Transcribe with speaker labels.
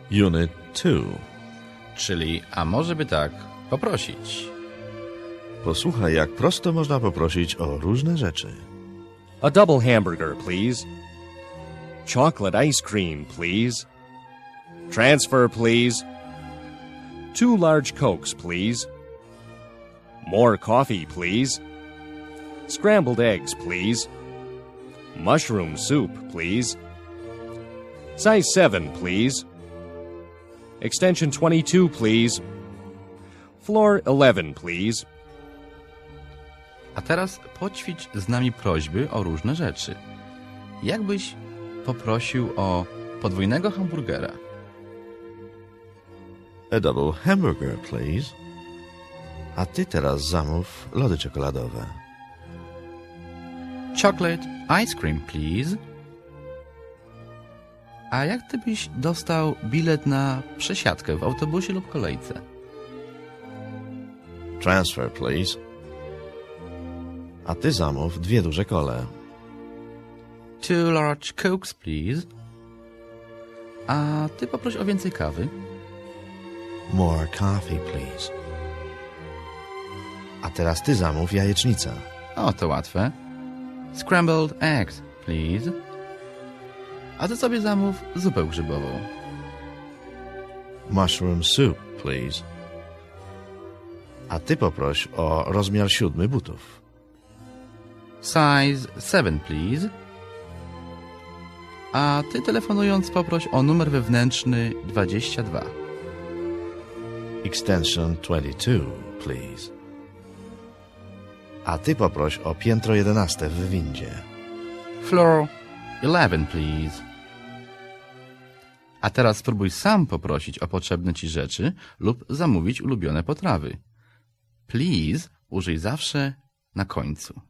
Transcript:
Speaker 1: Unit 2.
Speaker 2: Czyli, a może by tak poprosić.
Speaker 1: Posłuchaj, jak prosto można poprosić o różne rzeczy.
Speaker 3: A double hamburger, please. Chocolate ice cream, please. Transfer, please. 2 large Cokes, please. More coffee, please. Scrambled eggs, please. Mushroom soup, please. Size 7, please. Extension 22, please. Floor 11, please.
Speaker 2: A teraz poćwicz z nami prośby o różne rzeczy. Jakbyś poprosił o podwójnego hamburgera?
Speaker 1: A double hamburger, please. A ty teraz zamów lody czekoladowe.
Speaker 2: Chocolate ice cream, please. A jak ty byś dostał bilet na przesiadkę w autobusie lub kolejce?
Speaker 1: Transfer, please. A ty zamów 2 duże kole.
Speaker 2: 2 large Cokes, please. A ty poproś o więcej kawy.
Speaker 1: More coffee, please. A teraz ty zamów jajecznicę.
Speaker 2: O, to łatwe. Scrambled eggs, please. A ty sobie zamów zupę grzybową.
Speaker 1: Mushroom soup, please. A ty poproś o rozmiar 7 butów.
Speaker 2: Size 7, please. A ty telefonując poproś o numer wewnętrzny 22.
Speaker 1: Extension 22, please. A ty poproś o piętro 11 w windzie.
Speaker 2: Floor 11, please. A teraz spróbuj sam poprosić o potrzebne ci rzeczy lub zamówić ulubione potrawy. Please użyj zawsze na końcu.